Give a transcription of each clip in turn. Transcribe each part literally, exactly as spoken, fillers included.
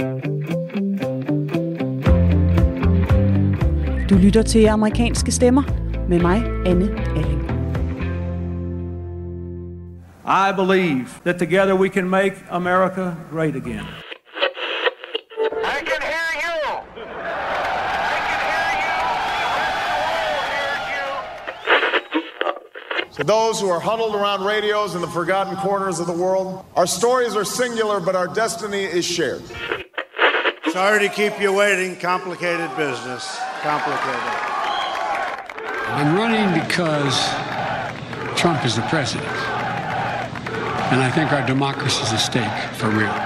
Du lytter til Amerikanske Stemmer med mig, Anne Alling. I believe that together we can make America great again. I can hear you. I can hear you. To those who are huddled around radios in the forgotten corners of the world, our stories are singular, but our destiny is shared. Sorry to keep you waiting. Complicated business. Complicated. I'm running because Trump is the president. And I think our democracy is at stake for real.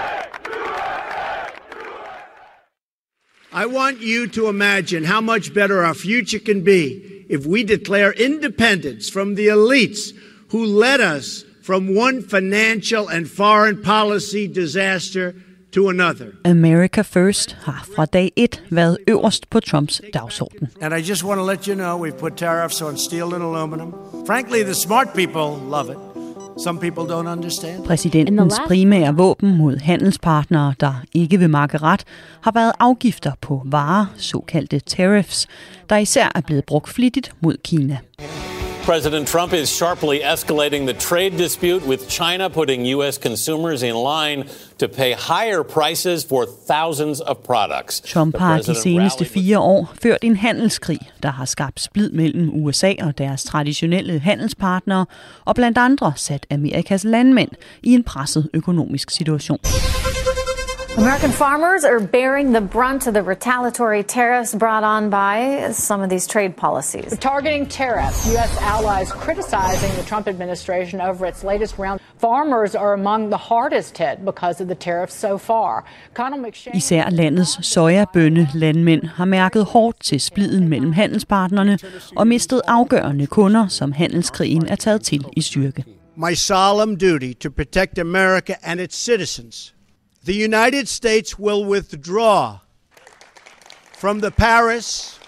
I want you to imagine how much better our future can be if we declare independence from the elites who led us from one financial and foreign policy disaster to another. America First har fra dag et været øverst på Trumps dagsorden. And I just want to let you know we've put tariffs on steel and aluminum. Frankly, the smart people love it. Some people don't understand. Præsidentens primære våben mod handelspartnere, der ikke vil makke ret, har været afgifter på varer, såkaldte tariffs, der især er blevet brugt flittigt mod Kina. President Trump is sharply escalating the trade dispute with China, putting U S consumers in line to pay higher prices for thousands of products. Trump har de seneste fire år ført en handelskrig, der har skabt splid mellem U S A og deres traditionelle handelspartnere, og blandt andre sat Amerikas landmænd i en presset økonomisk situation. American farmers are bearing the brunt of the retaliatory tariffs brought on by some of these trade policies. Targeting tariffs, U S allies criticizing the Trump administration over its latest round. Farmers are among the hardest hit because of the tariffs so far. Især landets sojabønne landmænd har mærket hårdt til spliden mellem handelspartnerne og mistet afgørende kunder, som handelskrigen er taget til i styrke. My solemn duty to protect America and its citizens. The United States will withdraw from the Paris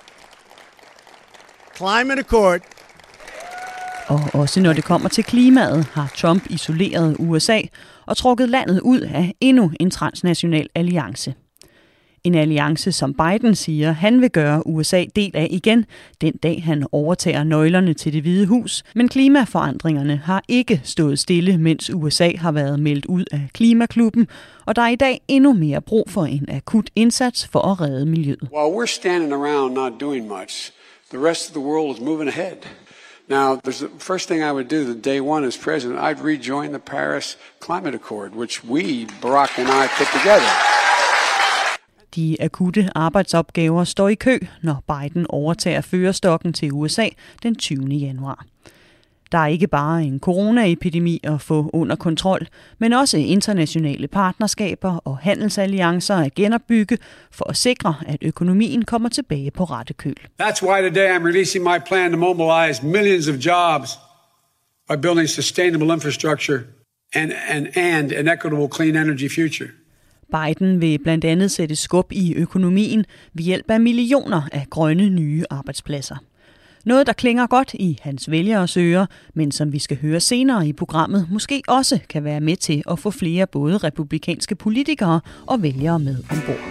Climate Accord. Og også når det kommer til klimaet, har Trump isoleret U S A og trukket landet ud af endnu en transnational alliance. En alliance, som Biden siger, han vil gøre U S A del af igen, den dag han overtager nøglerne til Det Hvide Hus. Men klimaforandringerne har ikke stået stille, mens U S A har været meldt ud af klimaklubben, og der er i dag endnu mere brug for en akut indsats for at redde miljøet. While we're standing around not doing much, the rest of the world is moving ahead. Now, the first thing I would do the day one as president, I'd rejoin the Paris Climate Accord, which we, Barack and I, put together. De akutte arbejdsopgaver står i kø, når Biden overtager førerstokken til U S A den tyvende januar. Der er ikke bare en coronaepidemi at få under kontrol, men også internationale partnerskaber og handelsalliancer at genopbygge for at sikre, at økonomien kommer tilbage på rette køl. That's why today I'm releasing my plan to mobilize millions of jobs by building sustainable infrastructure and, and, and an equitable clean energy future. Biden vil blandt andet sætte skub i økonomien ved hjælp af millioner af grønne nye arbejdspladser. Noget, der klinger godt i hans vælgeres ører, men som vi skal høre senere i programmet, måske også kan være med til at få flere både republikanske politikere og vælgere med ombord.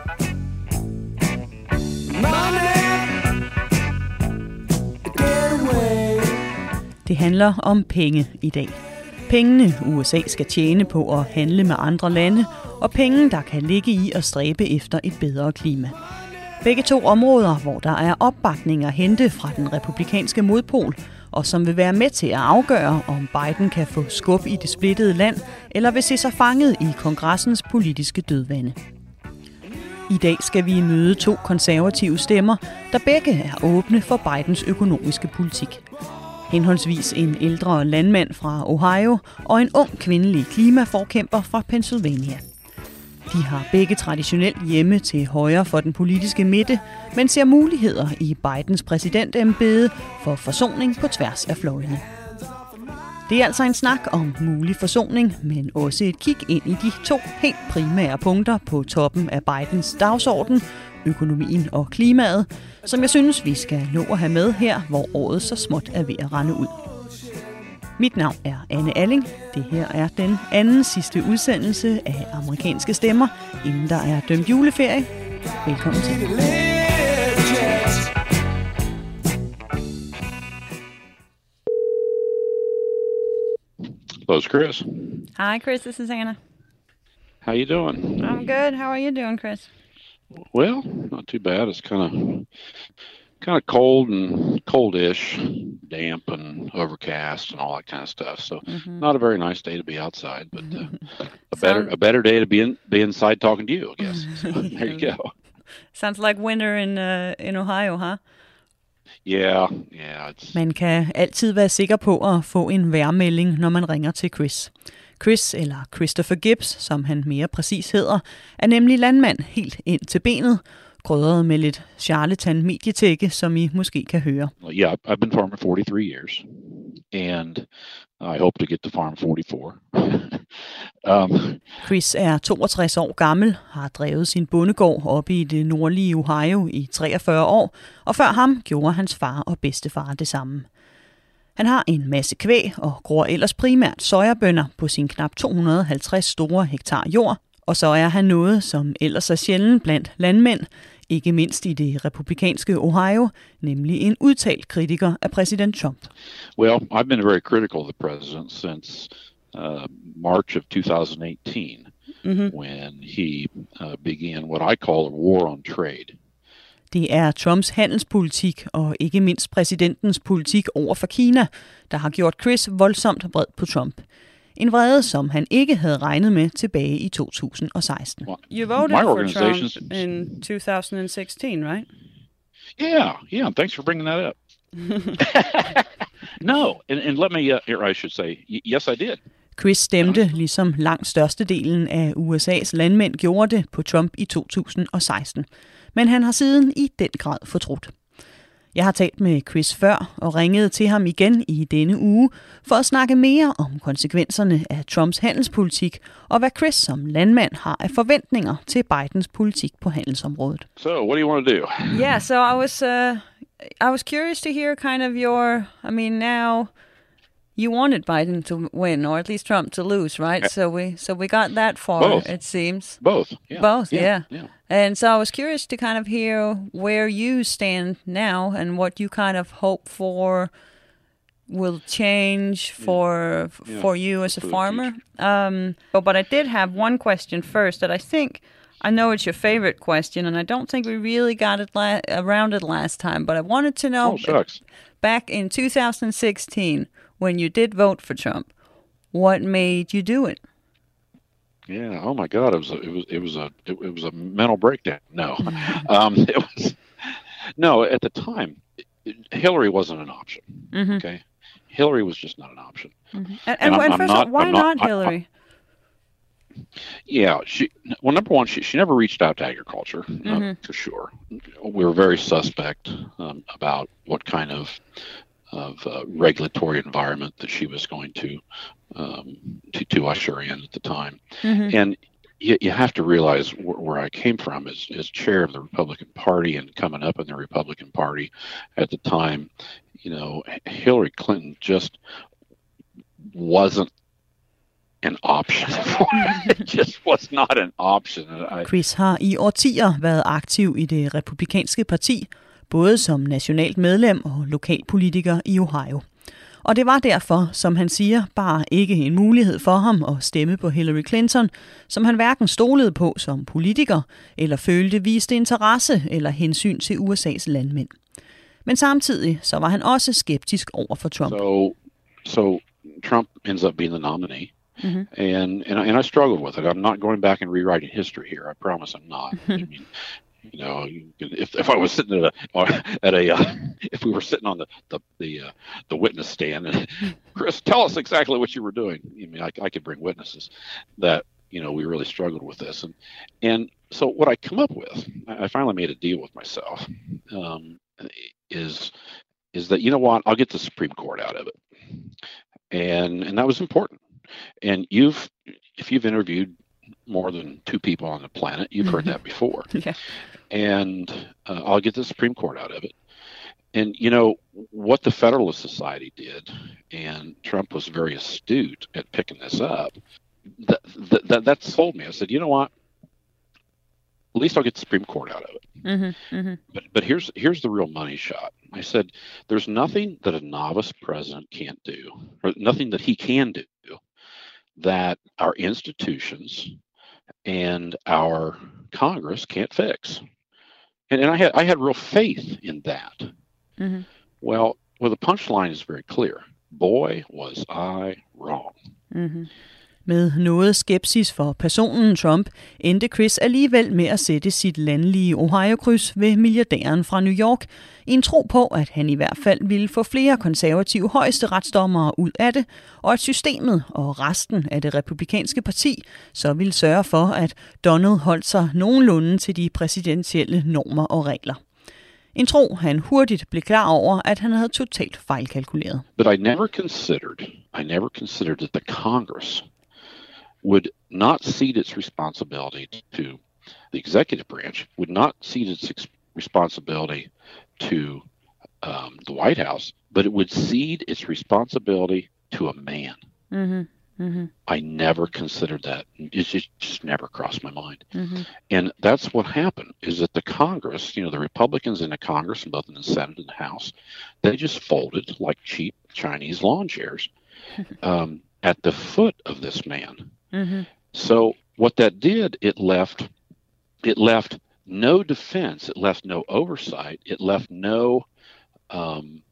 Det handler om penge i dag. Pengene U S A skal tjene på at handle med andre lande, og penge, der kan ligge i at stræbe efter et bedre klima. Begge to områder, hvor der er opbakning at hente fra den republikanske modpol, og som vil være med til at afgøre, om Biden kan få skub i det splittede land, eller vil se sig fanget i kongressens politiske dødvande. I dag skal vi møde to konservative stemmer, der begge er åbne for Bidens økonomiske politik. Henholdsvis en ældre landmand fra Ohio og en ung kvindelig klimaforkæmper fra Pennsylvania. De har begge traditionelt hjemme til højre for den politiske midte, men ser muligheder i Bidens præsidentembede for forsoning på tværs af fløjene. Det er altså en snak om mulig forsoning, men også et kig ind i de to helt primære punkter på toppen af Bidens dagsorden, økonomien og klimaet, som jeg synes, vi skal nå at have med her, hvor året så småt er ved at rende ud. Mit navn er Anne Alling. Det her er den anden sidste udsendelse af Amerikanske Stemmer, inden der er dømt juleferie. Velkommen til. Hello, Chris. Hi, Chris. This is Anna. How you doing? I'm good. How are you doing, Chris? Well, not too bad. It's kind of kind of cold and coldish, damp and overcast and all that kind of stuff. So, mm-hmm. Not a very nice day to be outside, but uh, a better a better day to be in be inside talking to you, I guess. So, there you go. Sounds like winter in uh, in Ohio, huh? Yeah, yeah. It's... Man kan altid være sikker på at få en vejrmelding, når man ringer til Chris. Chris, eller Christopher Gibbs, som han mere præcis hedder, er nemlig landmand helt ind til benet, krydret med lidt charlatan-medietække, som I måske kan høre. Yeah, I've been farming forty-three years, and I hope to get to farm forty-four. um, Chris er toogtres år gammel, har drevet sin bondegård oppe i det nordlige Ohio i treogfyrre år, og før ham gjorde hans far og bedstefar det samme. Han har en masse kvæg og gror ellers primært sojabønner på sin knap to hundrede og halvtreds store hektar jord, og så er han noget, som ellers er sjældent blandt landmænd, ikke mindst i det republikanske Ohio, nemlig en udtalt kritiker af præsident Trump. Well, I've been very critical of the president since uh, March of two thousand eighteen, mm-hmm. when he uh, began what I call a war on trade. Det er Trumps handelspolitik og ikke mindst præsidentens politik over for Kina, der har gjort Chris voldsomt vred på Trump. En vrede, som han ikke havde regnet med tilbage i to tusind og seksten. You voted for Trump in two thousand sixteen, right? Yeah, yeah. Thanks for bringing that up. No, and, and let me, uh, here I should say, yes, I did. Chris stemte, ligesom langt størstedelen af U S A's landmænd gjorde det, på Trump i to tusind og seksten. Men han har siden i den grad fortrudt. Jeg har talt med Chris før og ringet til ham igen i denne uge for at snakke mere om konsekvenserne af Trumps handelspolitik og hvad Chris som landmand har af forventninger til Bidens politik på handelsområdet. So, what do you want to do? Yeah, so I was uh, I was curious to hear kind of your, I mean, now you wanted Biden to win, or at least Trump to lose, right? So we so we got that far, Both. It seems. Both. Yeah. Both, yeah, yeah. yeah. And so I was curious to kind of hear where you stand now and what you kind of hope for will change for yeah. for you as a farmer. Um, but I did have one question first that I think, I know it's your favorite question, and I don't think we really got it la- around it last time, but I wanted to know, oh, shucks. back in two thousand sixteen, when you did vote for Trump, what made you do it? Yeah. Oh my God. It was. A, it was. It was a. It, it was a mental breakdown. No. um, it was. No. At the time, it, Hillary wasn't an option. Mm-hmm. Okay. Hillary was just not an option. Mm-hmm. And, and, and, and first of all, why not, not Hillary? I, I, yeah. She. Well, number one, she she never reached out to agriculture, mm-hmm. uh, for sure. We were very suspect um, about what kind of. of uh, regulatory environment that she was going to um, to, to usher in at the time. Mm-hmm. And you, you have to realize wh- where I came from as, as chair of the Republican Party and coming up in the Republican Party at the time, you know, Hillary Clinton just wasn't an option for it. It just was not an option. I... Chris har i årtier været aktiv i det republikanske parti, både som nationalt medlem og lokalpolitiker i Ohio. Og det var derfor, som han siger, bare ikke en mulighed for ham at stemme på Hillary Clinton, som han hverken stolede på som politiker, eller følte viste interesse eller hensyn til U S A's landmænd. Men samtidig så var han også skeptisk over for Trump. So, so Trump ends up being the nominee. Mm-hmm. And, and, and I struggled with it. I'm not going back and rewriting history here. I promise I'm not. I mean, you know, if if I was sitting at a at a uh, if we were sitting on the the the, uh, the witness stand, and Chris, tell us exactly what you were doing. I mean, I, I could bring witnesses that you know we really struggled with this, and and so what I come up with, I finally made a deal with myself, um, is is that you know what, I'll get the Supreme Court out of it, and and that was important. And you've if you've interviewed more than two people on the planet, you've heard that before. Yeah. And uh, I'll get the Supreme Court out of it. and you know what the Federalist Society did, and Trump was very astute at picking this up. That that, that, that sold me. I said, you know what? At least I'll get the Supreme Court out of it. Mm-hmm, mm-hmm. But but here's here's the real money shot. I said, there's nothing that a novice president can't do, or nothing that he can do, that our institutions and our Congress can't fix. And, and I had I had real faith in that. Mm-hmm. Well, well, the punchline is very clear. Boy, was I wrong. Mm-hmm. Med noget skepsis for personen Trump, endte Chris alligevel med at sætte sit landlige Ohio-kryds ved milliardæren fra New York, i en tro på, at han i hvert fald ville få flere konservative højesteretsdommere ud af det, og at systemet og resten af det republikanske parti så ville sørge for, at Donald holdt sig nogenlunde til de præsidentielle normer og regler. En tro, han hurtigt blev klar over, at han havde totalt fejlkalkuleret. But I never considered, I never considered that the Congress would not cede its responsibility to the executive branch, would not cede its ex- responsibility to um, the White House, but it would cede its responsibility to a man. Mm-hmm. Mm-hmm. I never considered that. It just, just never crossed my mind. Mm-hmm. And that's what happened, is that the Congress, you know, the Republicans in the Congress, both in the Senate and the House, they just folded like cheap Chinese lawn chairs um, at the foot of this man. Mm-hmm. So what that did, it left, it left no defense, it left no oversight, it left no um,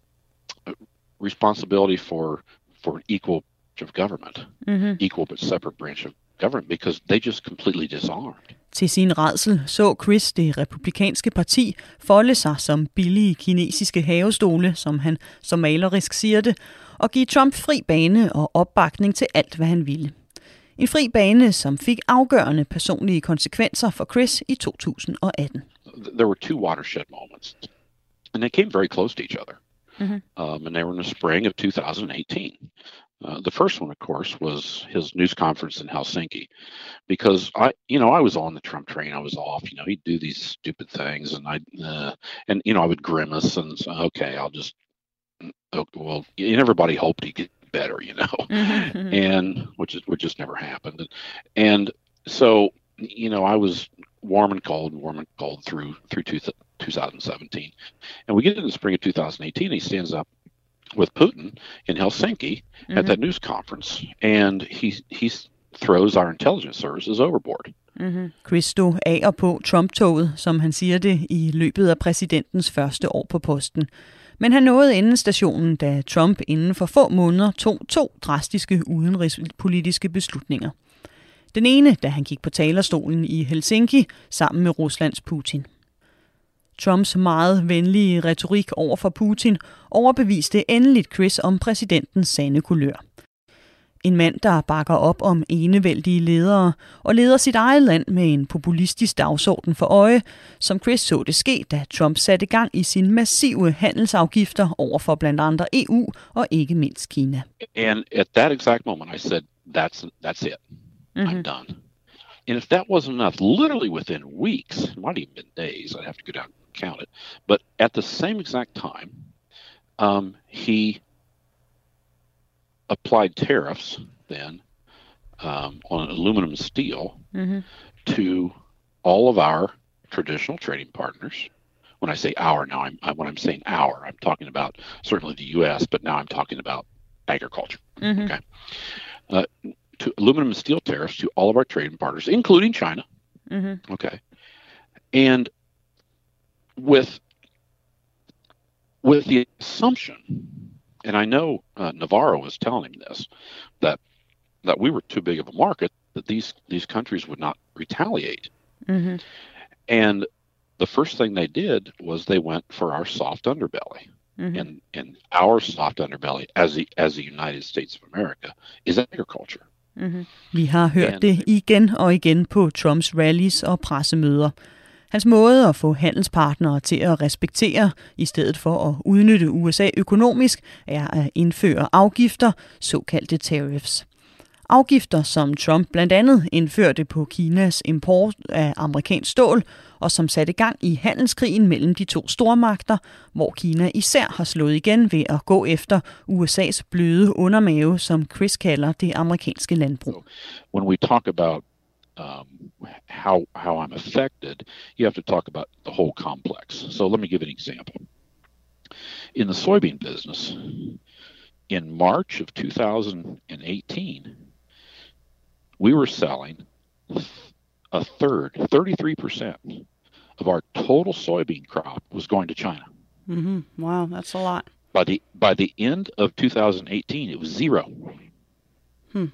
responsibility for for an equal branch of government, mm-hmm. equal but separate branch of government, because they just completely disarmed. Til sin rædsel så Chris det republikanske parti folde sig som billige kinesiske havestole, som han så malerisk siger det, og give Trump fri bane og opbakning til alt, hvad han ville. En fri bane, som fik afgørende personlige konsekvenser for Chris i to tusind og atten. There were two watershed moments, and they came very close to each other. Mm-hmm. Um, and they were in the spring of two thousand eighteen. Uh, the first one, of course, was his news conference in Helsinki, because I, you know, I was on the Trump train. I was off. You know, he'd do these stupid things, and I, uh, and you know, I would grimace and say, okay, I'll just, oh, well, and everybody hoped he'd get better, you know, mm-hmm. and which is which just never happened. And, and so, you know, I was warm and cold, warm and cold through through two, twenty seventeen, and we get in the spring of two thousand eighteen. And he stands up with Putin in Helsinki mm-hmm. at that news conference, and he he throws our intelligence services overboard. Mm-hmm. Chris stod af og på Trump-toget, som han siger det, i løbet af præsidentens første år på posten. Men han nåede endestationen, da Trump inden for få måneder tog to drastiske udenrigspolitiske beslutninger. Den ene, da han gik på talerstolen i Helsinki sammen med Ruslands Putin. Trumps meget venlige retorik over for Putin overbeviste endeligt Chris om præsidentens sande kulør. En mand, der bakker op om enevældige ledere og leder sit eget land med en populistisk dagsorden for øje, som Chris så det ske, da Trump satte gang i sine massive handelsafgifter over for blandt andre E U og ikke mindst Kina. And at that exact moment I said, that's that's it. Mm-hmm. I'm done. And if that wasn't enough, literally within weeks, it might even been days, I'd have to go down and count it, but at the same exact time, um, he applied tariffs then um, on aluminum and steel mm-hmm. to all of our traditional trading partners. When I say our now, I'm, I, when I'm saying our, I'm talking about certainly the U S, but now I'm talking about agriculture. Mm-hmm. Okay, uh, to aluminum and steel tariffs to all of our trading partners, including China. Mm-hmm. Okay, and with with the assumption, and I know uh, Navarro was telling him this, that that we were too big of a market, that these these countries would not retaliate. Mm-hmm. And the first thing they did was they went for our soft underbelly. Mm-hmm. And and our soft underbelly as the as the United States of America is agriculture. Mm-hmm. Vi har hørt And, det igen og igen på Trumps rallies og pressemøder. Hans måde at få handelspartnere til at respektere, i stedet for at udnytte U S A økonomisk, er at indføre afgifter, såkaldte tariffs. Afgifter, som Trump blandt andet indførte på Kinas import af amerikansk stål, og som satte gang i handelskrigen mellem de to stormagter, hvor Kina især har slået igen ved at gå efter U S A's bløde undermave, som Chris kalder det amerikanske landbrug. When we talk about um, how how I'm affected, you have to talk about the whole complex. So let me give an example. In the soybean business, in March of two thousand eighteen, we were selling a third, thirty-three percent of our total soybean crop was going to China. Mm-hmm. Wow, that's a lot. By the by the end of two thousand eighteen, it was zero. Hmm.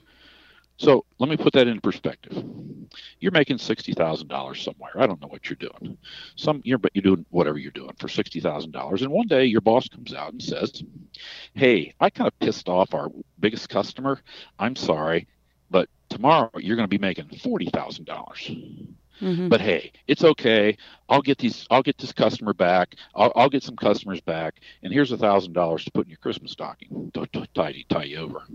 So let me put that into perspective. You're making sixty thousand dollars somewhere. I don't know what you're doing. Some you're but you're doing whatever you're doing for sixty thousand dollars. And one day your boss comes out and says, "Hey, I kind of pissed off our biggest customer. I'm sorry, but tomorrow you're going to be making forty thousand dollars. Mm-hmm. But hey, it's okay. I'll get these. I'll get this customer back. I'll, I'll get some customers back. And here's a thousand dollars to put in your Christmas stocking. To tie, tie you over."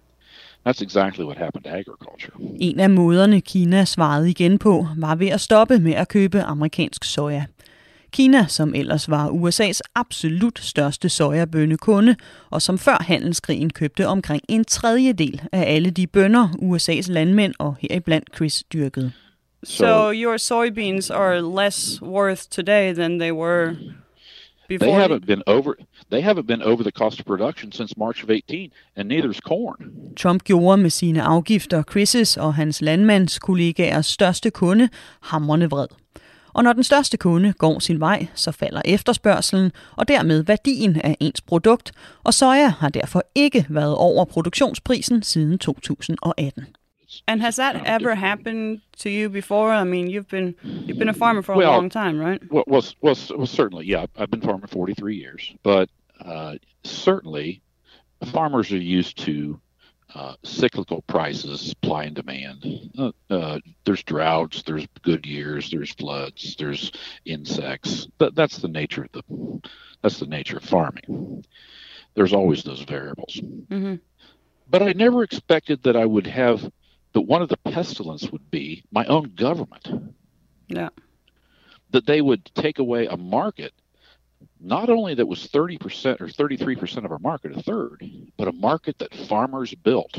That's exactly what happened to agriculture. En af måderne, Kina svarede igen på, var ved at stoppe med at købe amerikansk soja. Kina, som ellers var U S A's absolut største sojabønnekunde, og som før handelskrigen købte omkring en tredjedel af alle de bønner, U S A's landmænd og heriblandt Chris dyrkede. So, so your soybeans are less worth today than they were before? They haven't been over. They haven't been over the cost of production since March of eighteen, and neither's corn. Trump gjorde med sine afgifter Chris' og hans landmandskollegaers største kunde hamrende vred. Og når den største kunde går sin vej, så falder efterspørgselen og dermed værdien af ens produkt, og soja har derfor ikke været over produktionsprisen siden to tusind atten. And has that ever happened to you before? I mean, you've been you've been a farmer for a well, long time, right? Well, well, well, well, certainly, yeah. I've been farming forty-three years, but uh, certainly, farmers are used to uh, cyclical prices, supply and demand. Uh, uh, there's droughts, there's good years, there's floods, there's insects. That, that's the nature of the that's the nature of farming. There's always those variables. Mm-hmm. But I never expected that I would have. But one of the pestilence would be my own government. Yeah. That they would take away a market, not only that was thirty percent or thirty-three percent of our market, a third, but a market that farmers built.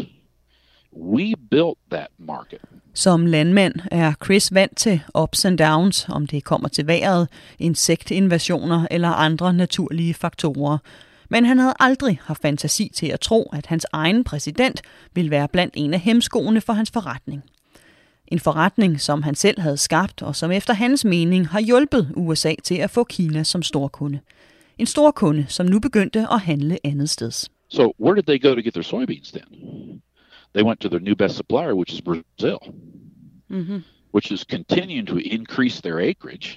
We built that market. Som landmand er Chris vant til ups and downs, om det kommer til vejret, insektinvasioner eller andre naturlige faktorer. Men han havde aldrig haft fantasi til at tro, at hans egen præsident ville være blandt en af hemskoene for hans forretning. En forretning, som han selv havde skabt, og som efter hans mening har hjulpet U S A til at få Kina som storkunde. En storkunde, som nu begyndte at handle andet steds. So where did they go to get their soybeans then? They went to their new best supplier, which is Brazil, mm-hmm. which is continuing to increase their acreage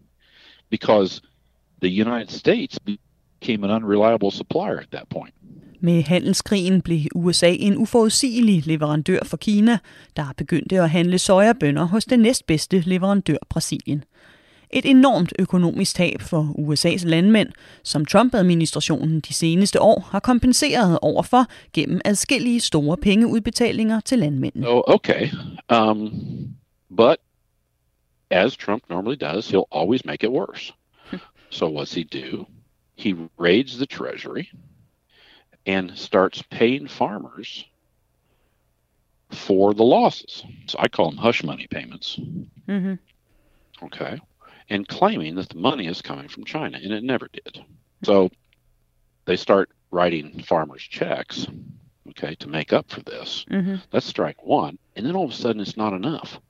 because the United States became an unreliable supplier at that point. Med handelskrigen blev U S A en uforudsigelig leverandør for Kina, der begyndte at handle sojabønner hos den næstbedste leverandør Brasilien. Et enormt økonomisk tab for U S A's landmænd, som Trump-administrationen de seneste år har kompenseret overfor gennem adskillige store pengeudbetalinger til landmændene. Oh, okay. Um, but as Trump normally does, he'll always make it worse. So what's he do? He raids the treasury and starts paying farmers for the losses. So I call them hush money payments. Mm-hmm. Okay. And claiming that the money is coming from China, and it never did. So they start writing farmers checks, okay, to make up for this. Mm-hmm. That's strike one. And then all of a sudden it's not enough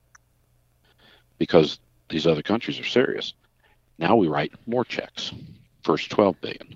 because these other countries are serious. Now we write more checks. First twelve billion,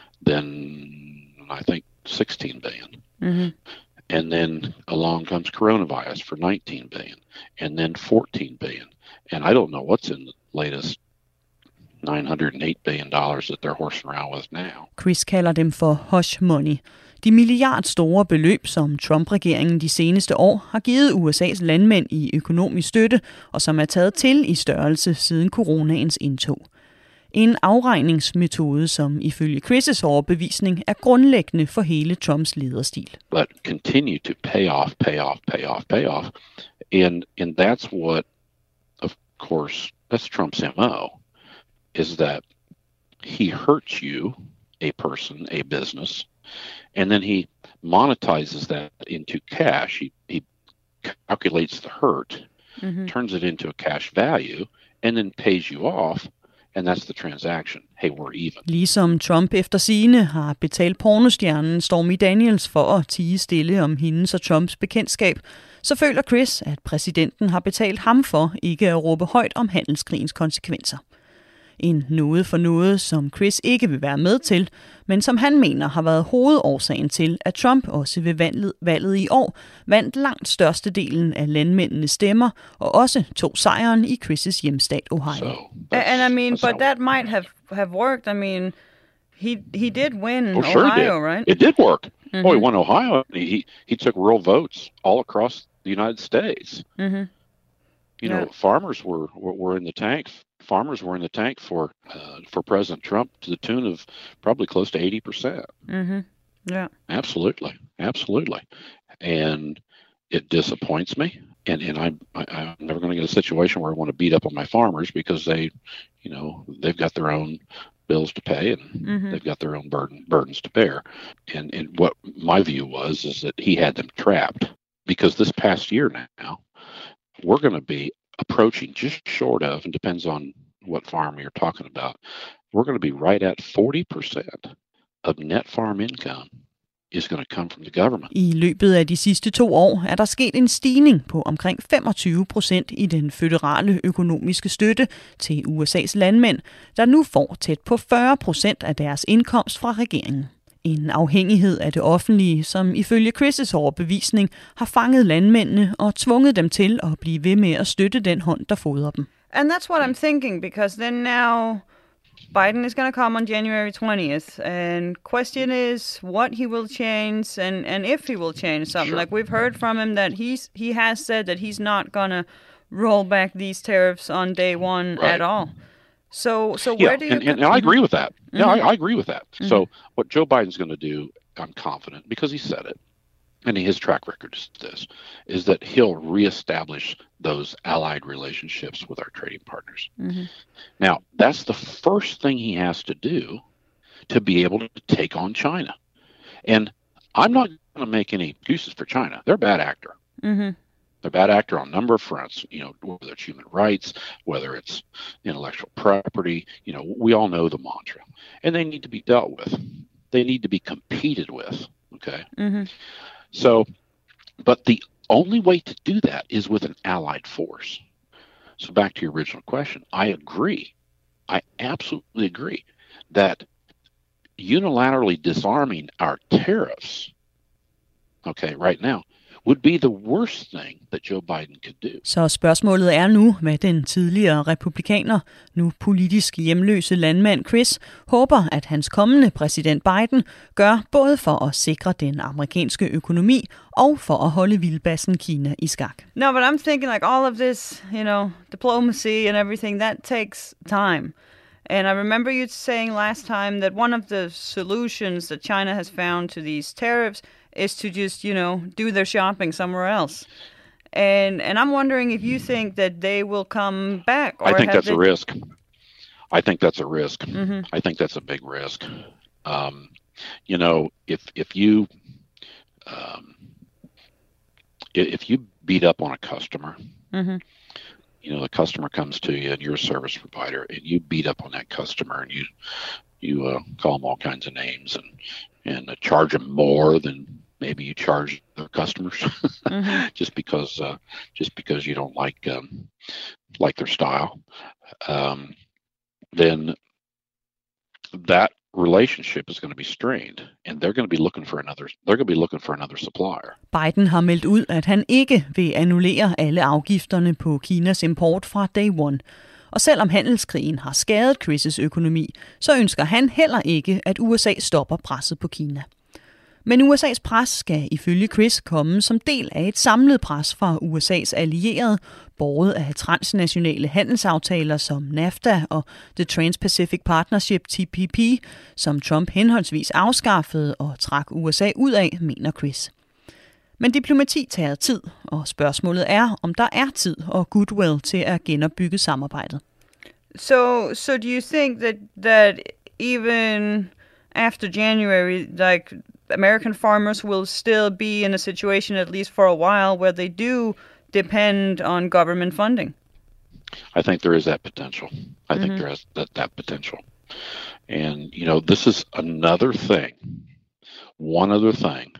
then I think sixteen billion. Mm-hmm. And then along comes coronavirus for nineteen billion, and then fourteen billion. And I don't know what's in the latest nine hundred eight billion dollars that they're horsing around with now. Chris kalder dem for hush money. De milliardstore beløb, som Trump-regeringen de seneste år har givet U S A's landmænd i økonomisk støtte, og som er taget til i størrelse siden coronaens indtog. En afregningsmetode, som ifølge Chris' overbevisning er grundlæggende for hele Trumps lederstil. But continue to pay off, pay off, pay off, pay off. And, and that's what, of course, that's Trump's M O, is that he hurts you, a person, a business, and then he monetizes that into cash. He, he calculates the hurt, mm-hmm. turns it into a cash value, and then pays you off, and that's the transaction. Hey, we're even. Ligesom Trump efter sigende har betalt pornostjernen Stormy Daniels for at tie stille om hendes og Trumps bekendtskab, så føler Chris, at præsidenten har betalt ham for ikke at råbe højt om handelskrigens konsekvenser. En noget for noget, som Chris ikke vil være med til, men som han mener har været hovedårsagen til, at Trump også ved valget, valget i år vandt langt størstedelen af landmændenes stemmer, og også tog sejren i Chris' hjemstat Ohio. So, and I mean, but that might have, have worked. I mean, he he did win oh, sure Ohio, did. right? It did work. Mm-hmm. Oh, he won Ohio. He he took real votes all across the United States. Mm-hmm. You know, yeah. farmers were, were were in the tank. Farmers were in the tank for uh, for President Trump to the tune of probably close to eighty percent. Mm-hmm. Yeah, absolutely, absolutely, and it disappoints me. And and I, I I'm never going to get a situation where I want to beat up on my farmers because they, you know, they've got their own bills to pay and mm-hmm. they've got their own burden burdens to bear. And and what my view was is that he had them trapped because this past year now we're going to be approaching just short of, and depends on what farm you're talking about, we're going to be right at forty percent of net farm income is going to come from the government. I løbet af de sidste to år er der sket en stigning på omkring femogtyve procent i den føderale økonomiske støtte til U S A's landmænd, der nu får tæt på fyrre procent af deres indkomst fra regeringen. En afhængighed af det offentlige, som ifølge Chris' overbevisning har fanget landmændene og tvunget dem til at blive ved med at støtte den hånd, der fodrer dem. And that's what I'm thinking, because then now Biden is going to come on January twentieth, and question is what he will change and, and if he will change something. Sure. Like we've heard from him that he's he has said that he's not going to roll back these tariffs on day one right. at all. So, so where yeah, do you? And, and, and I agree with that. Mm-hmm. Yeah, I, I agree with that. Mm-hmm. So, what Joe Biden's going to do, I'm confident, because he said it, and his track record is this, is that he'll reestablish those allied relationships with our trading partners. Mm-hmm. Now, that's the first thing he has to do to be able to take on China. And I'm not going to make any excuses for China. They're a bad actor. Mm-hmm. They're a bad actor on a number of fronts, you know, whether it's human rights, whether it's intellectual property, you know, we all know the mantra. And they need to be dealt with. They need to be competed with, okay? Mm-hmm. So, but the only way to do that is with an allied force. So back to your original question, I agree. I absolutely agree that unilaterally disarming our tariffs, okay, right now, would be the worst thing that Joe Biden could do. Så spørgsmålet er nu, hvad den tidligere republikaner, nu politisk hjemløse landmand Chris, håber, at hans kommende præsident Biden gør både for at sikre den amerikanske økonomi og for at holde vildbassen Kina i skak. No, but I'm thinking like all of this, you know, diplomacy and everything, that takes time. And I remember you saying last time that one of the solutions that China has found to these tariffs is to just, you know, do their shopping somewhere else. And and I'm wondering if you think that they will come back. Or I think that's they... a risk. I think that's a risk. Mm-hmm. I think that's a big risk. Um, you know, if if you um, if you beat up on a customer, mm-hmm. you know, the customer comes to you and you're a service provider, and you beat up on that customer and you you uh, call them all kinds of names and and uh, charge them more than maybe you charge their customers, mm-hmm. just because uh, just because you don't like um, like their style, um, then that relationship is going to be strained, and they're going to be looking for another. They're going to be looking for another supplier. Biden har meldt ud, at han ikke vil annullere alle afgifterne på Kinas import fra day one. Og selvom handelskrigen har skadet Chris' økonomi, så ønsker han heller ikke, at U S A stopper presset på Kina. Men U S A's pres skal ifølge Chris komme som del af et samlet pres fra U S A's allierede, båret af transnationale handelsaftaler som NAFTA og The Trans-Pacific Partnership T P P, som Trump henholdsvis afskaffede og trak U S A ud af, mener Chris. Men diplomati tager tid, og spørgsmålet er, om der er tid og goodwill til at genopbygge samarbejdet. So, so do you think that that even after January, like American farmers will still be in a situation, at least for a while, where they do depend on government funding? I think there is that potential. I mm-hmm. think there is that, that potential. And, you know, this is another thing, one other thing,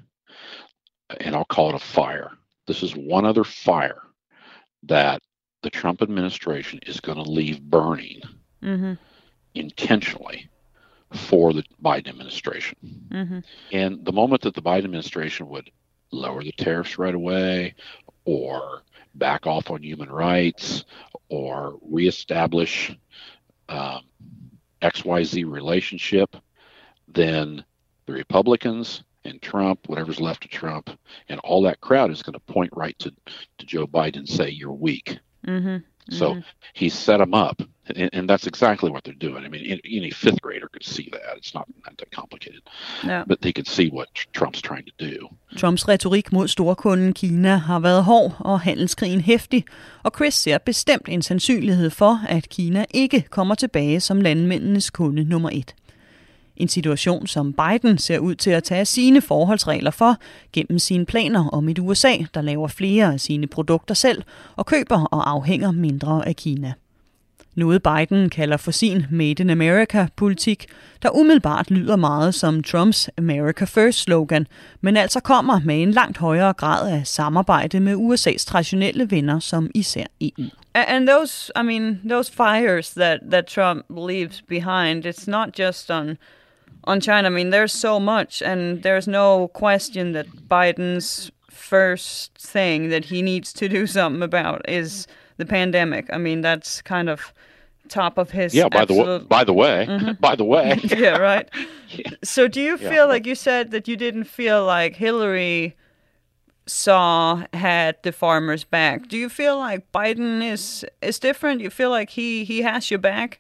and I'll call it a fire. This is one other fire that the Trump administration is going to leave burning mm-hmm. intentionally for the Biden administration. Mm-hmm. And the moment that the Biden administration would lower the tariffs right away or back off on human rights or reestablish um, X Y Z relationship, then the Republicans and Trump, whatever's left of Trump, and all that crowd is going to point right to, to Joe Biden and say, you're weak. Mm-hmm. So mm-hmm. he set them up, and, and that's exactly what they're doing. I mean, any, any fifth grader could see that. It's not, not that complicated. No. But they could see what Trump's trying to do. Trumps retorik mod storkunden Kina har været hård og handelskrigen heftig, og Chris ser bestemt en sandsynlighed for, at Kina ikke kommer tilbage som landmændenes kunde nummer et. En situation, som Biden ser ud til at tage sine forholdsregler for gennem sine planer om et U S A, der laver flere af sine produkter selv og køber og afhænger mindre af Kina. Noget Biden kalder for sin Made in America-politik, der umiddelbart lyder meget som Trumps America First-slogan, men altså kommer med en langt højere grad af samarbejde med U S A's traditionelle venner som især E U. And those, I mean, those fires that, that Trump leaves behind, it's not just on on China. I mean, there's so much, and there's no question that Biden's first thing that he needs to do something about is the pandemic. I mean, that's kind of top of his. Yeah. By absolute... the by the way, mm-hmm. by the way. yeah. Right. yeah. So, do you feel yeah. like you said that you didn't feel like Hillary saw had the farmers' back? Do you feel like Biden is is different? You feel like he he has your back?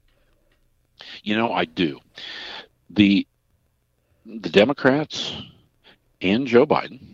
You know, I do. The the Democrats and Joe Biden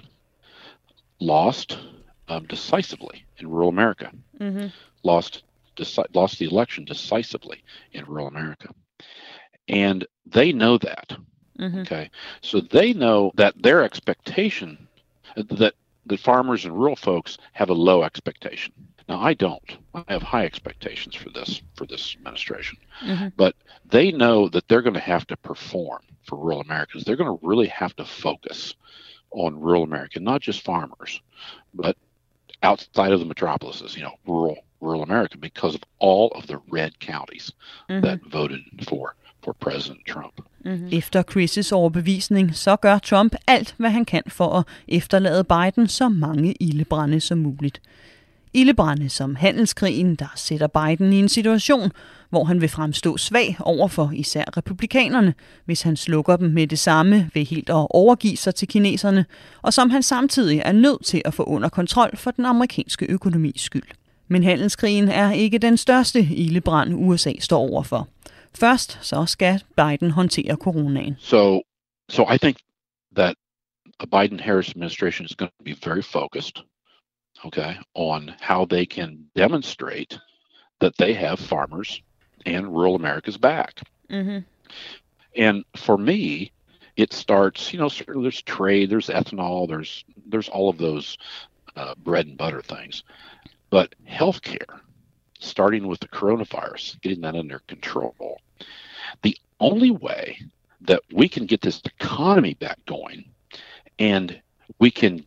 lost um, decisively in rural America. Mm-hmm. Lost deci- lost the election decisively in rural America, and they know that. Mm-hmm. Okay, so they know that their expectation that the farmers and rural folks have a low expectation. Now, I don't. I have high expectations for this for this administration. Mm-hmm. But they know that they're going to have to perform for rural Americans. They're going to really have to focus on rural America, not just farmers, but outside of the metropolises, you know, rural rural America, because of all of the red counties mm-hmm. that voted for for President Trump. Mm-hmm. Efter Chris' overbevisning, så gør Trump alt, hvad han kan for at efterlade Biden så mange ildebrande som muligt. Ildebrande som handelskrigen, der sætter Biden i en situation, hvor han vil fremstå svag over for især republikanerne, hvis han slukker dem med det samme ved helt at overgive sig til kineserne, og som han samtidig er nødt til at få under kontrol for den amerikanske økonomis skyld. Men handelskrigen er ikke den største ildebrand, U S A står overfor. Først så skal Biden håndtere coronaen. So, so I think that a Biden-Harris administration is going to be very focused, okay, on how they can demonstrate that they have farmers and rural America's back. Mm-hmm. And for me, it starts, you know, there's trade, there's ethanol, there's there's all of those uh, bread and butter things. But healthcare, starting with the coronavirus, getting that under control. The only way that we can get this economy back going and we can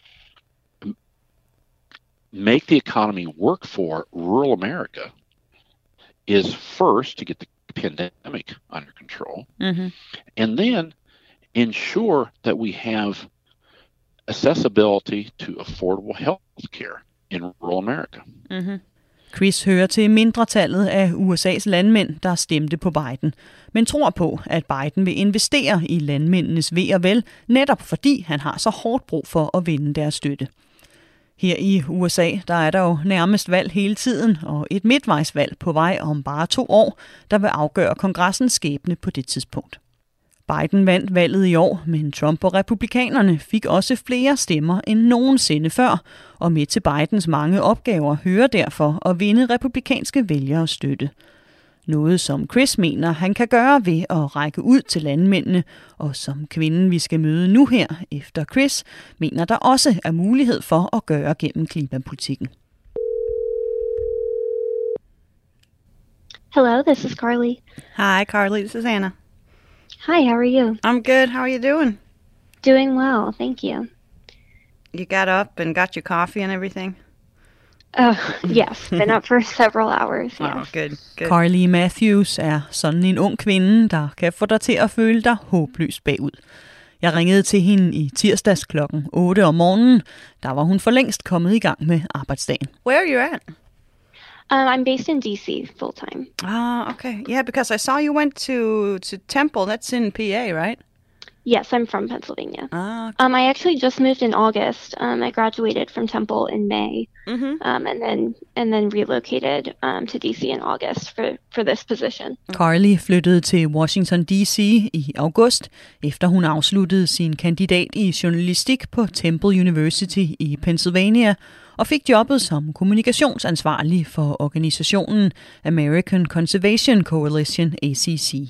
make the economy work for rural America is first to get the pandemic under control, mm-hmm. and then ensure that we have accessibility to affordable health care in rural America. Mm-hmm. Chris hører til mindretallet af U S A's landmænd, der stemte på Biden, men tror på, at Biden vil investere i landmændenes ve og vel, netop fordi han har så hårdt brug for at vinde deres støtte. Her i U S A, der er der jo nærmest valg hele tiden, og et midtvejsvalg på vej om bare to år, der vil afgøre kongressens skæbne på det tidspunkt. Biden vandt valget i år, men Trump og republikanerne fik også flere stemmer end nogensinde før, og med til Bidens mange opgaver hører derfor at vinde republikanske vælgere støtte. Noget som Chris mener, han kan gøre ved at række ud til landmændene, og som kvinden, vi skal møde nu her efter Chris, mener der også er mulighed for at gøre gennem klimapolitikken. Hello, this is Carly. Hi, Carly. This is Anna. Hi, how are you? I'm good. How are you doing? Doing well, thank you. You got up and got your coffee and everything? Oh, yes. Been up for several hours, yes. Oh, good, good. Carly Matthews er sådan en ung kvinde, der kan få dig til at føle dig håbløst bagud. Jeg ringede til hende i tirsdags klokken otte om morgenen. Der var hun for længst kommet i gang med arbejdsdagen. Where are you at? Um, I'm based in D C full time. Ah, okay. Yeah, because I saw you went to, to Temple. That's in P A, right? Yes, I'm from Pennsylvania. Ah, okay. Um, I actually just moved in August. Um, I graduated from Temple in May, mm-hmm. um, and then and then relocated um, to D C in August for, for this position. Carly flyttede til Washington D C i august, efter hun afsluttede sin kandidat i journalistik på Temple University i Pennsylvania, og fik jobbet som kommunikationsansvarlig for organisationen American Conservation Coalition, A C C.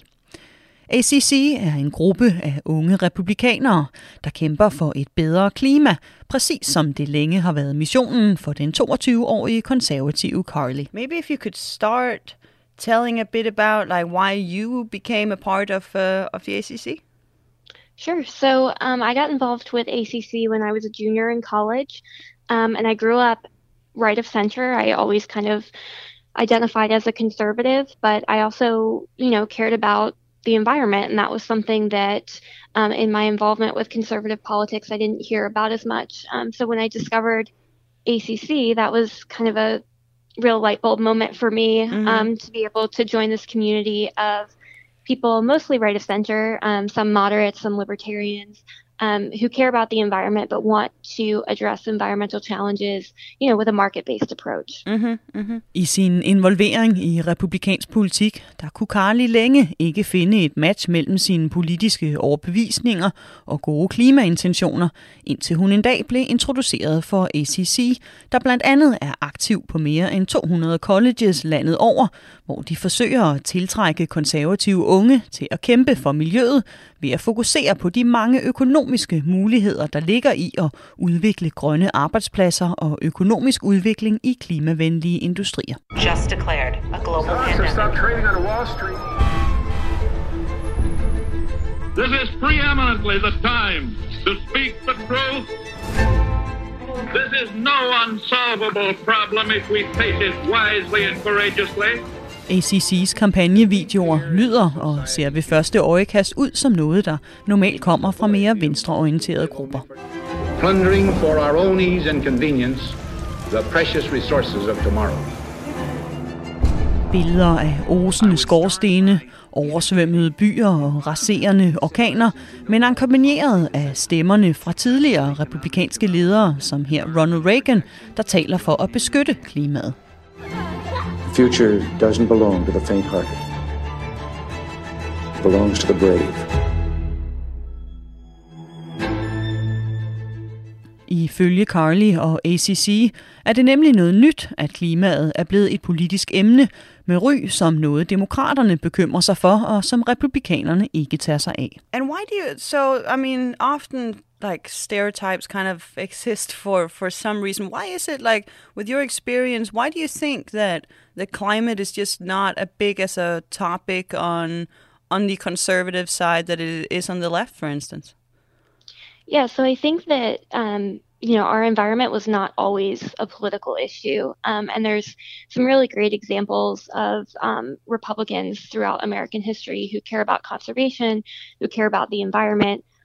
A C C er en gruppe af unge republikanere, der kæmper for et bedre klima, præcis som det længe har været missionen for den toogtyve-årige konservative Carly. Maybe if you could start telling a bit about like why you became a part of uh, of the A C C. Sure. So um, I got involved with A C C when I was a junior in college, um, and I grew up right of center. I always kind of identified as a conservative, but I also, you know, cared about the environment, and that was something that um, in my involvement with conservative politics I didn't hear about as much. Um, so when I discovered A C C, that was kind of a real light bulb moment for me, mm-hmm. um, to be able to join this community of people mostly right of center, um, some moderates, some libertarians, um, who care about the environment but want to address environmental challenges, you know, with a market-based approach. Mm-hmm, mm-hmm. I sin involvering i republikansk politik, der kunne Carly længe ikke finde et match mellem sine politiske overbevisninger og gode klimaintentioner, indtil hun en dag blev introduceret for A C C, der blandt andet er aktiv på mere end to hundrede colleges landet over, hvor de forsøger at tiltrække konservative unge til at kæmpe for miljøet ved at fokusere på de mange økonomiske muligheder, der ligger i at udvikle grønne arbejdspladser og økonomisk udvikling i klimavenlige industrier. Just declared a global pandemic. Stop trading on Wall Street. This is preeminently the time to speak the truth. This is no unsolvable problem if we face it wisely and courageously. A C C's kampagnevideoer lyder og ser ved første øjekast ud som noget, der normalt kommer fra mere venstreorienterede grupper. Plundering for our own ease and convenience the precious resources of tomorrow. Billeder af osende skorstene, oversvømmede byer og raserende orkaner, men akkompagneret af stemmerne fra tidligere republikanske ledere, som her Ronald Reagan, der taler for at beskytte klimaet. The future doesn't belong to the faint-hearted. It belongs to the brave. Ifølge Carly og A C C er det nemlig noget nyt, at klimaet er blevet et politisk emne med ry som noget demokraterne bekymrer sig for, og som republikanerne ikke tager sig af. And why do you, so, I mean, often like stereotypes kind of exist for, for some reason. Why is it like, with your experience, why do you think that the climate is just not as big as a topic on on the conservative side that it is on the left, for instance? Yeah, so I think that, um, you know, our environment was not always a political issue. Um, and there's some really great examples of um, Republicans throughout American history who care about conservation, who care about the environment,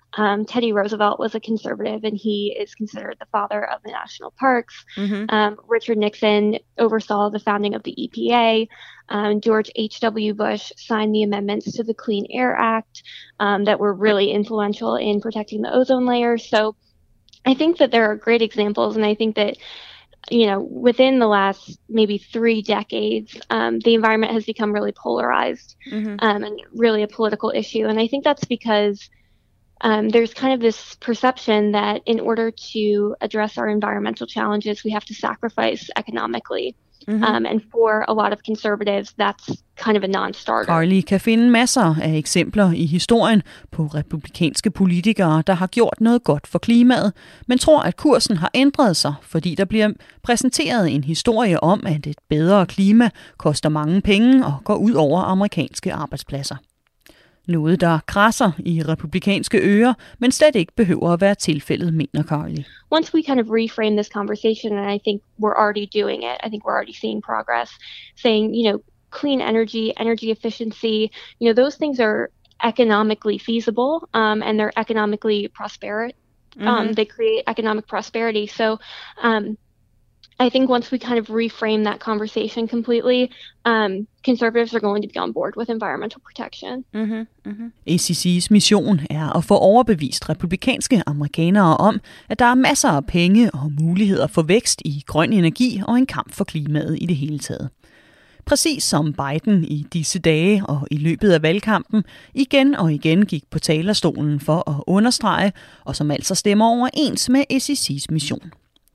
Um, Teddy Roosevelt was a conservative, and he is considered the father of the national parks. Mm-hmm. Um, Richard Nixon oversaw the founding of the E P A. Um, George H W Bush signed the amendments to the Clean Air Act um, that were really influential in protecting the ozone layer. So I think that there are great examples, and I think that, you know, within the last maybe three decades, um, the environment has become really polarized mm-hmm. um, and really a political issue. And I think that's because um, there's kind of this perception that in order to address our environmental challenges, we have to sacrifice economically. Mm-hmm. Um, and for a lot of conservatives, that's kind of a non-starter. Carly kan finde masser af eksempler i historien på republikanske politikere, der har gjort noget godt for klimaet, men tror, at kursen har ændret sig, fordi der bliver præsenteret en historie om, at et bedre klima koster mange penge og går ud over amerikanske arbejdspladser. Noget, der krasser i republikanske ører, men slet ikke behøver at være tilfældet, mener Carly. Once we kind of reframe this conversation, and I think we're already doing it, I think we're already seeing progress, saying, you know, clean energy, energy efficiency, you know, those things are economically feasible, um, and they're economically prosperous. Um, mm-hmm. They create economic prosperity. So, um, I think once we kind of reframe that conversation completely, um, conservatives are going to be on board with environmental protection. Mm-hmm, mm-hmm. A C C's mission er at få overbevist republikanske amerikanere om, at der er masser af penge og muligheder for vækst i grøn energi og en kamp for klimaet i det hele taget. Præcis som Biden i disse dage og i løbet af valgkampen igen og igen gik på talerstolen for at understrege, og som altså stemmer overens med A C C's mission.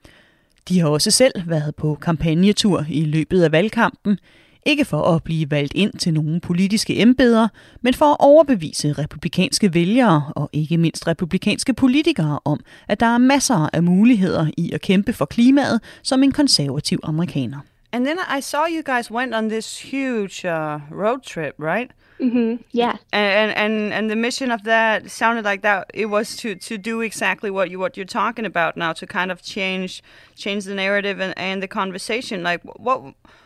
De har også selv været på kampagnetur i løbet af valgkampen, ikke for at blive valgt ind til nogle politiske embeder, men for at overbevise republikanske vælgere og ikke mindst republikanske politikere om, at der er masser af muligheder i at kæmpe for klimaet som en konservativ amerikaner. And then I saw you guys went on this huge uh, road trip, right? Mm-hmm. Yeah. And, and and the mission of that sounded like that it was to, to do exactly what you what you're talking about now, to kind of change change the narrative and, and the conversation. Like what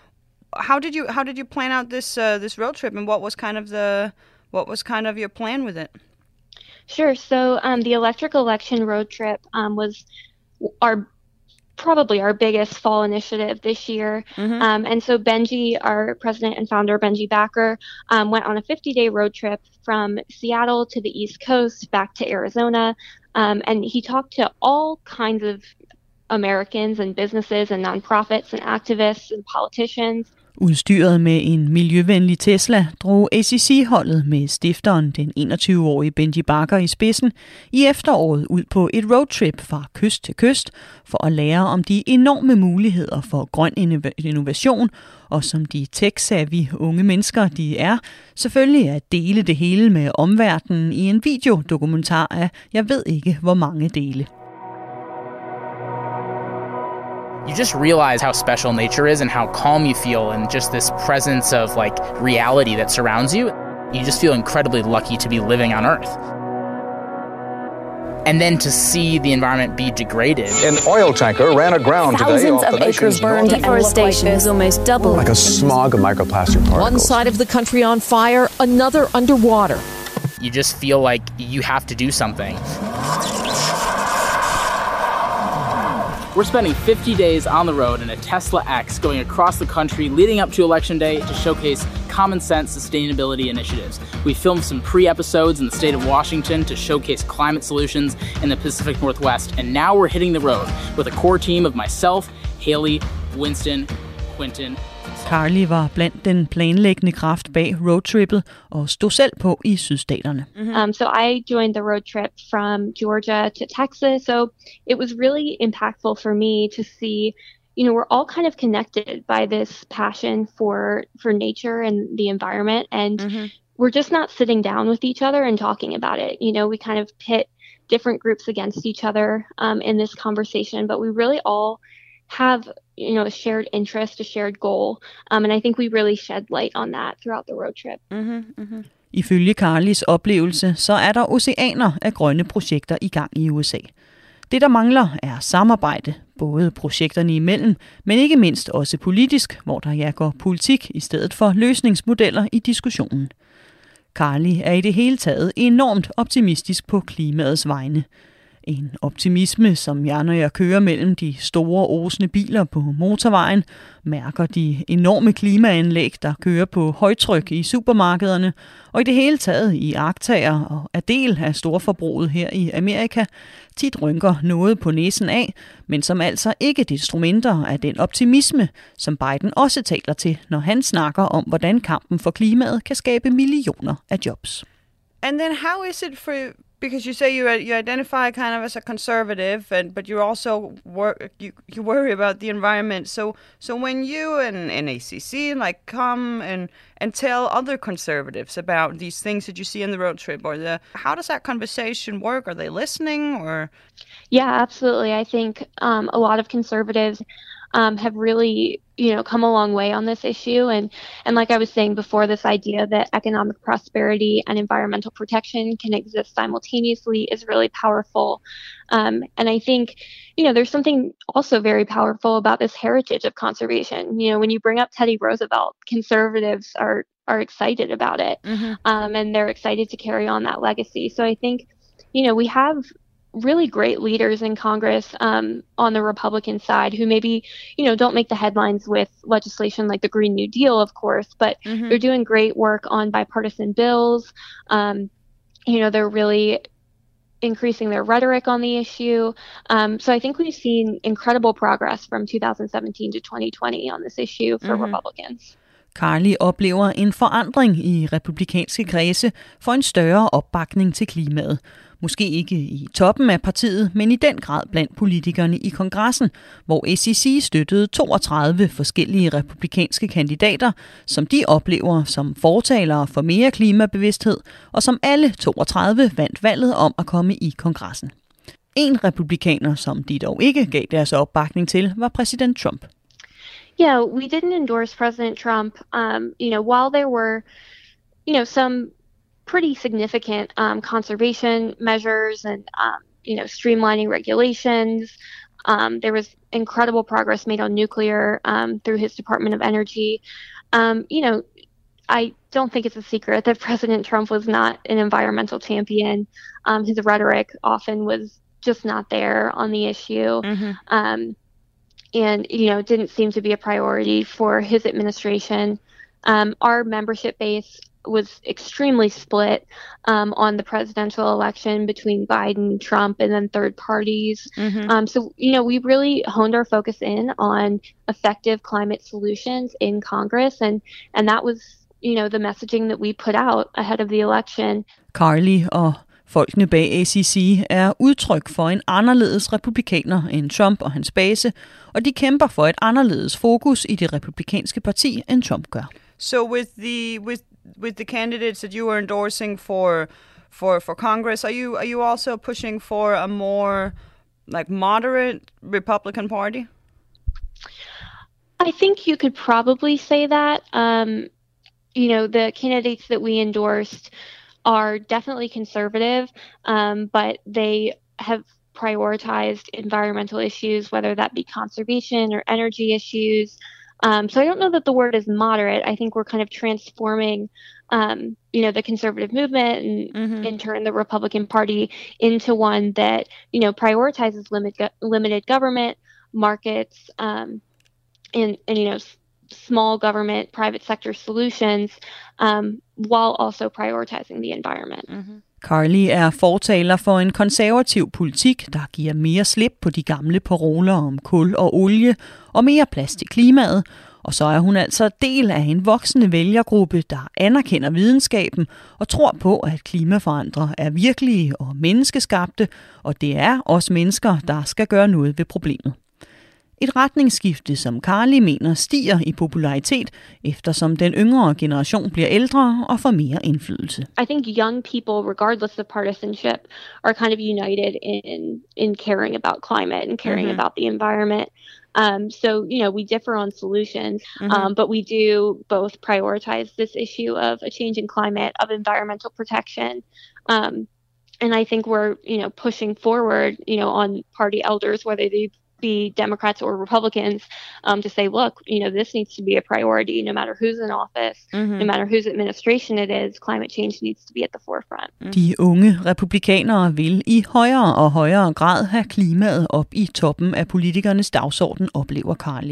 how did you how did you plan out this uh, this road trip, and what was kind of the what was kind of your plan with it? Sure. So um, the electric election road trip um, was our probably our biggest fall initiative this year. Mm-hmm. Um, and so Benji, our president and founder, Benji Backer, um, went on a fifty-day road trip from Seattle to the East Coast back to Arizona. Um, and he talked to all kinds of Americans and businesses and nonprofits and activists and politicians. Udstyret med en miljøvenlig Tesla drog A C C-holdet med stifteren, den enogtyve-årige Benji Backer i spidsen, i efteråret ud på et roadtrip fra kyst til kyst for at lære om de enorme muligheder for grøn innovation, og som de tech-savvy unge mennesker, de er, selvfølgelig at dele det hele med omverdenen i en videodokumentar af, jeg ved ikke hvor mange dele. You just realize how special nature is and how calm you feel, and just this presence of like reality that surrounds you. You just feel incredibly lucky to be living on Earth. And then to see the environment be degraded. An oil tanker ran aground today. Thousands of acres burned. Deforestation has almost doubled. Like a smog of microplastic particles. One side of the country on fire, another underwater. You just feel like you have to do something. We're spending fifty days on the road in a Tesla X going across the country leading up to Election Day to showcase common sense sustainability initiatives. We filmed some pre-episodes in the state of Washington to showcase climate solutions in the Pacific Northwest, and now we're hitting the road with a core team of myself, Haley, Winston, Quentin. Carly var blandt den planlæggende kraft bag roadtrippet og stod selv på i sydstaterne. Mm-hmm. Um, so I joined the road trip from Georgia to Texas. So it was really impactful for me to see, you know, we're all kind of connected by this passion for for nature and the environment, and mm-hmm. we're just not sitting down with each other and talking about it. You know, we kind of pit different groups against each other um, in this conversation, but we really all have, you know, a shared interest, a shared goal. Um, and I think we really shed light on that throughout the road trip. Mm-hmm, mm-hmm. Ifølge Carlys oplevelse, så er der oceaner af grønne projekter i gang i U S A. Det, der mangler, er samarbejde, både projekterne imellem, men ikke mindst også politisk, hvor der ja går politik i stedet for løsningsmodeller i diskussionen. Carly er i det hele taget enormt optimistisk på klimaets vegne. En optimisme, som jeg, når jeg kører mellem de store osende biler på motorvejen, mærker de enorme klimaanlæg, der kører på højtryk i supermarkederne, og i det hele taget i iagttager og er del af storforbruget her i Amerika, tit rynker noget på næsen af, men som altså ikke er instrumenter af den optimisme, som Biden også taler til, når han snakker om, hvordan kampen for klimaet kan skabe millioner af jobs. And then how is it for because you say you you identify kind of as a conservative, and but you also work you you worry about the environment. So so when you and, and A C C like come and and tell other conservatives about these things that you see on the road trip, or the how does that conversation work? Are they listening or? Yeah, absolutely. I think um, a lot of conservatives um, have really, you know, come a long way on this issue. And, and like I was saying before, this idea that economic prosperity and environmental protection can exist simultaneously is really powerful. Um, and I think, you know, there's something also very powerful about this heritage of conservation. You know, when you bring up Teddy Roosevelt, conservatives are, are excited about it. Mm-hmm. Um, and they're excited to carry on that legacy. So I think, you know, we have really great leaders in Congress um, on the Republican side who maybe, you know, don't make the headlines with legislation like the Green New Deal, of course, but mm-hmm. they're doing great work on bipartisan bills. Um, you know, they're really increasing their rhetoric on the issue. Um, so I think we've seen incredible progress from two thousand seventeen to twenty twenty on this issue for mm-hmm. Republicans. Carly oplever en forandring i republikanske kredse for en større opbakning til klimaet. Måske ikke i toppen af partiet, men i den grad blandt politikerne i kongressen, hvor A C C støttede toogtredive forskellige republikanske kandidater, som de oplever som fortalere for mere klimabevidsthed, og som alle toogtredive vandt valget om at komme i kongressen. En republikaner, som de dog ikke gav deres opbakning til, var præsident Trump. Yeah, we didn't endorse President Trump. Um, you know, while there were, you know, some pretty significant um, conservation measures and, um, you know, streamlining regulations, um, there was incredible progress made on nuclear um, through his Department of Energy. Um, you know, I don't think it's a secret that President Trump was not an environmental champion. Um, his rhetoric often was just not there on the issue. Mm-hmm. Um, and, you know, didn't seem to be a priority for his administration. Um, our membership base was extremely split um, on the presidential election between Biden, Trump, and then third parties. Mm-hmm. Um, so, you know, we really honed our focus in on effective climate solutions in Congress. And, and that was, you know, the messaging that we put out ahead of the election. Carly og folkene bag A C C er udtryk for en anderledes republikaner end Trump og hans base, og de kæmper for et anderledes fokus i det republikanske parti, end Trump gør. So with the with with the candidates that you are endorsing for for for Congress, are you are you also pushing for a more like moderate Republican Party? I think you could probably say that. Um, you know, the candidates that we endorsed are definitely conservative, um, but they have prioritized environmental issues, whether that be conservation or energy issues. Um, so I don't know that the word is moderate. I think we're kind of transforming, um, you know, the conservative movement and mm-hmm. in turn the Republican Party into one that, you know, prioritizes limit, limited government, markets, um, and, and, you know, s- small government, private sector solutions, um, while also prioritizing the environment. Mm-hmm. Carly er fortaler for en konservativ politik, der giver mere slip på de gamle paroler om kul og olie og mere plads til klimaet. Og så er hun altså del af en voksende vælgergruppe, der anerkender videnskaben og tror på, at klimaforandrere er virkelige og menneskeskabte, og det er også mennesker, der skal gøre noget ved problemet. Et retningsskifte, som Carly mener stiger i popularitet, eftersom den yngre generation bliver ældre og får mere indflydelse. I think young people, regardless of partisanship, are kind of united in in caring about climate and caring mm-hmm. about the environment. Um, so, you know, we differ on solutions, mm-hmm. um, but we do both prioritize this issue of a change in climate, of environmental protection. Um, and I think we're, you know, pushing forward, you know, on party elders, whether they be Democrats or Republicans, um, to say, look, you know, this needs to be a priority no matter who's in office, mm-hmm. no matter whose administration it is, climate change needs to be at the forefront. De unge republikanere vil i højere og højere grad have klimaet op i toppen af politikernes dagsorden, oplever Carly.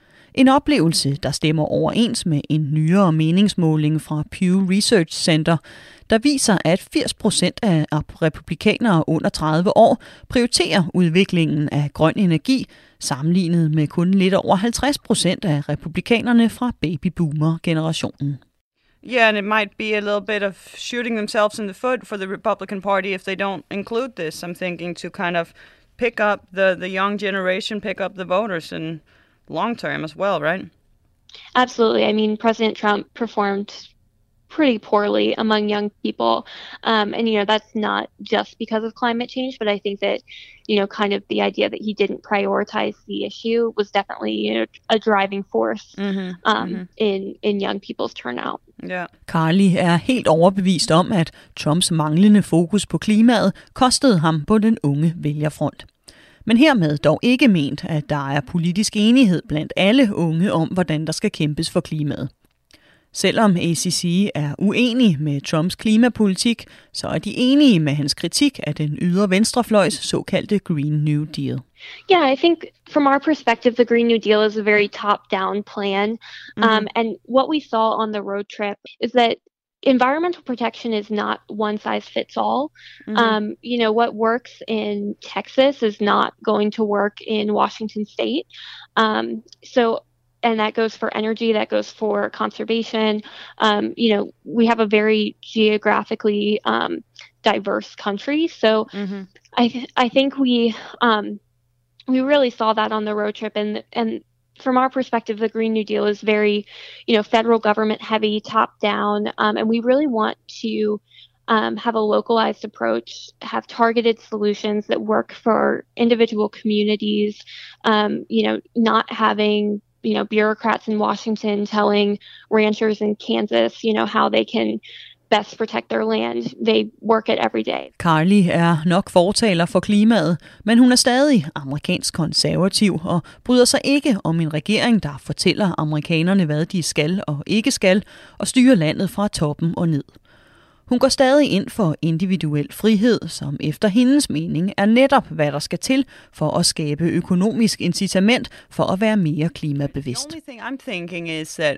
En oplevelse, der stemmer overens med en nyere meningsmåling fra Pew Research Center, der viser, at firs procent af republikanere under tredive år prioriterer udviklingen af grøn energi, sammenlignet med kun lidt over halvtreds procent af republikanerne fra babyboomer-generationen. Yeah, and it might be a little bit of shooting themselves in the foot for the Republican Party if they don't include this. I'm thinking to kind of pick up the, the young generation, pick up the voters in long term as well, right? Absolutely. I mean, President Trump performed pretty poorly among young people. Um, and, you know, that's not just because of climate change, but I think that, you know, kind of the idea that he didn't prioritize the issue was definitely, you know, a driving force mm-hmm. Um, mm-hmm. in, in young people's turnout. Yeah. Carly er helt overbevist om, at Trumps manglende fokus på klimaet kostede ham på den unge vælgerfront. Men hermed dog ikke ment, at der er politisk enighed blandt alle unge om, hvordan der skal kæmpes for klimaet. Selvom A C C er uenig med Trumps klimapolitik, så er de enige med hans kritik af den ydre venstrefløjs såkaldte Green New Deal. Yeah, I think from our perspective, the Green New Deal is a very top-down plan. Mm-hmm. Um, and what we saw on the road trip is that environmental protection is not one size fits all. Mm-hmm. Um, you know, what works in Texas is not going to work in Washington State. Um, so, and that goes for energy, that goes for conservation. Um, you know, we have a very geographically um, diverse country. So mm-hmm. I th- I think we um, we really saw that on the road trip, and and from our perspective, the Green New Deal is very, you know, federal government heavy, top down, um, and we really want to um, have a localized approach, have targeted solutions that work for individual communities. Um, you know, not having, you know, bureaucrats in Washington telling ranchers in Kansas, you know, how they can best protect their land. They work it every day. Carly er nok fortaler for klimaet, men hun er stadig amerikansk konservativ og bryder sig ikke om en regering, der fortæller amerikanerne, hvad de skal og ikke skal, og styrer landet fra toppen og ned. Hun går stadig ind for individuel frihed, som efter hendes mening er netop, hvad der skal til for at skabe økonomisk incitament for at være mere klimabevidst. The only thing I'm thinking is that,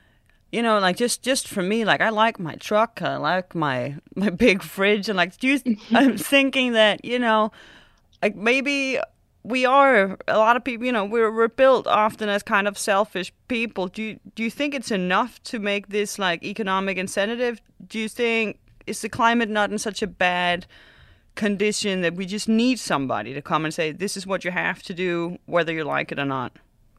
you know, like just, just for me, like I like my truck, I like my my big fridge, and like do you, I'm thinking that, you know, like maybe we are a lot of people, you know, we're we're built often as kind of selfish people. Do you do you think it's enough to make this like economic incentive? Do you think is the climate not in such a bad condition that we just need somebody to come and say this is what you have to do, whether you like it or not?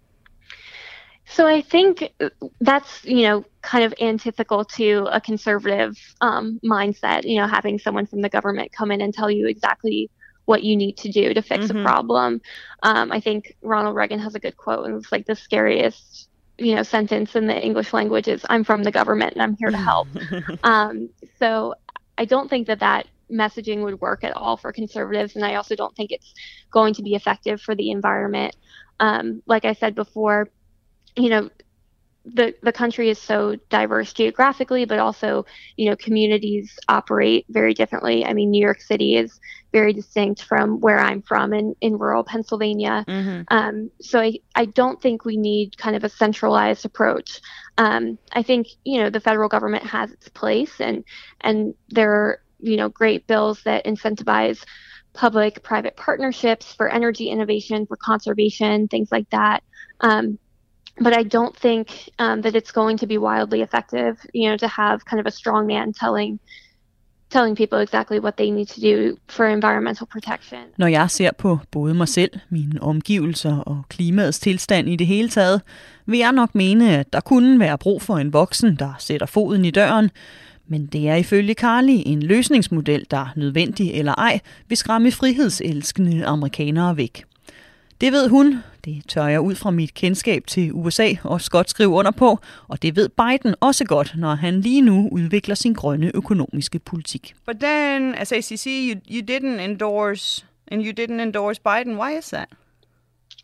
So I think that's, you know, kind of antithetical to a conservative um, mindset, you know, having someone from the government come in and tell you exactly what you need to do to fix mm-hmm. a problem. Um, I think Ronald Reagan has a good quote, and it's like the scariest, you know, sentence in the English language is, I'm from the government and I'm here to help. um, so I don't think that that messaging would work at all for conservatives, and I also don't think it's going to be effective for the environment. Um, like I said before, you know, the the country is so diverse geographically, but also, you know, communities operate very differently. I mean, New York City is very distinct from where I'm from in, in rural Pennsylvania. Mm-hmm. Um, so I, I don't think we need kind of a centralized approach. Um, I think, you know, the federal government has its place, and and there are, you know, great bills that incentivize public-private partnerships for energy innovation, for conservation, things like that. Um, But I don't think um, that it's going to be wildly effective, you know, to have kind of a strong man telling telling people exactly what they need to do for environmental protection. Når jeg ser på både mig selv, mine omgivelser og klimaets tilstand i det hele taget, vil jeg nok mene, at der kunne være brug for en voksen, der sætter foden i døren. Men det er ifølge Carly en løsningsmodel, der nødvendig eller ej, vil skræmme frihedselskende amerikanere væk. Det ved hun, det tør jeg ud fra mit kendskab til U S A også godt skrive under på, og det ved Biden også godt, når han lige nu udvikler sin grønne økonomiske politik. But then, as A C C, you, you didn't endorse, and you didn't endorse Biden. Why is that?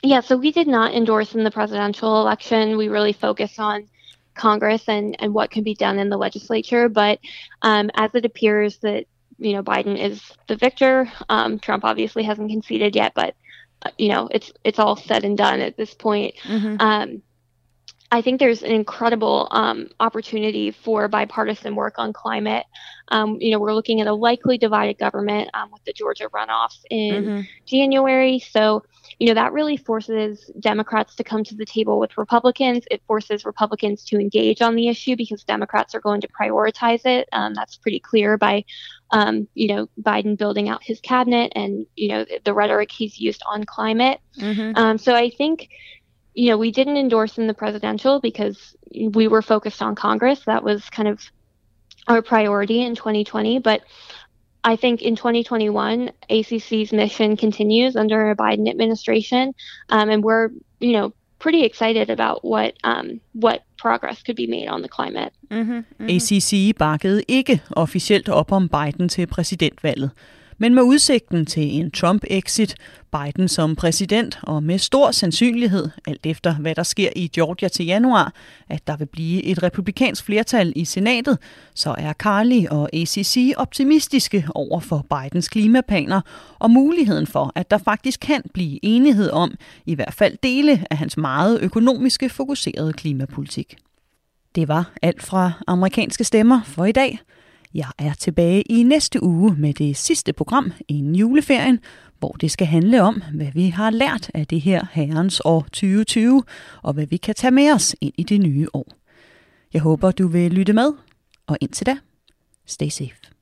Yeah, so we did not endorse in the presidential election. We really focused on Congress and, and what can be done in the legislature. But um, as it appears that, you know, Biden is the victor, um, Trump obviously hasn't conceded yet, but, uh, you know, it's it's all said and done at this point. Mm-hmm. Um, I think there's an incredible um, opportunity for bipartisan work on climate. Um, you know, we're looking at a likely divided government um, with the Georgia runoffs in mm-hmm. January. So, you know, that really forces Democrats to come to the table with Republicans. It forces Republicans to engage on the issue because Democrats are going to prioritize it. Um, that's pretty clear by, um, you know, Biden building out his cabinet and, you know, the, the rhetoric he's used on climate. Mm-hmm. Um, so I think, you know, we didn't endorse in the presidential because we were focused on Congress. That was kind of our priority in twenty twenty. But I think in twenty twenty-one, A C C's mission continues under a Biden administration. Um, and we're, you know, pretty excited about what um, what progress could be made on the climate. Mm-hmm, mm-hmm. A C C bakkede ikke officielt op om Biden til præsidentvalget. Men med udsigten til en Trump-exit, Biden som præsident og med stor sandsynlighed, alt efter hvad der sker i Georgia til januar, at der vil blive et republikansk flertal i senatet, så er Carly og A C C optimistiske over for Bidens klimaplaner og muligheden for, at der faktisk kan blive enighed om i hvert fald dele af hans meget økonomiske fokuserede klimapolitik. Det var alt fra Amerikanske Stemmer for i dag. Jeg er tilbage i næste uge med det sidste program inden juleferien, hvor det skal handle om, hvad vi har lært af det her herrens år tyve tyve, og hvad vi kan tage med os ind i det nye år. Jeg håber, du vil lytte med, og indtil da, stay safe.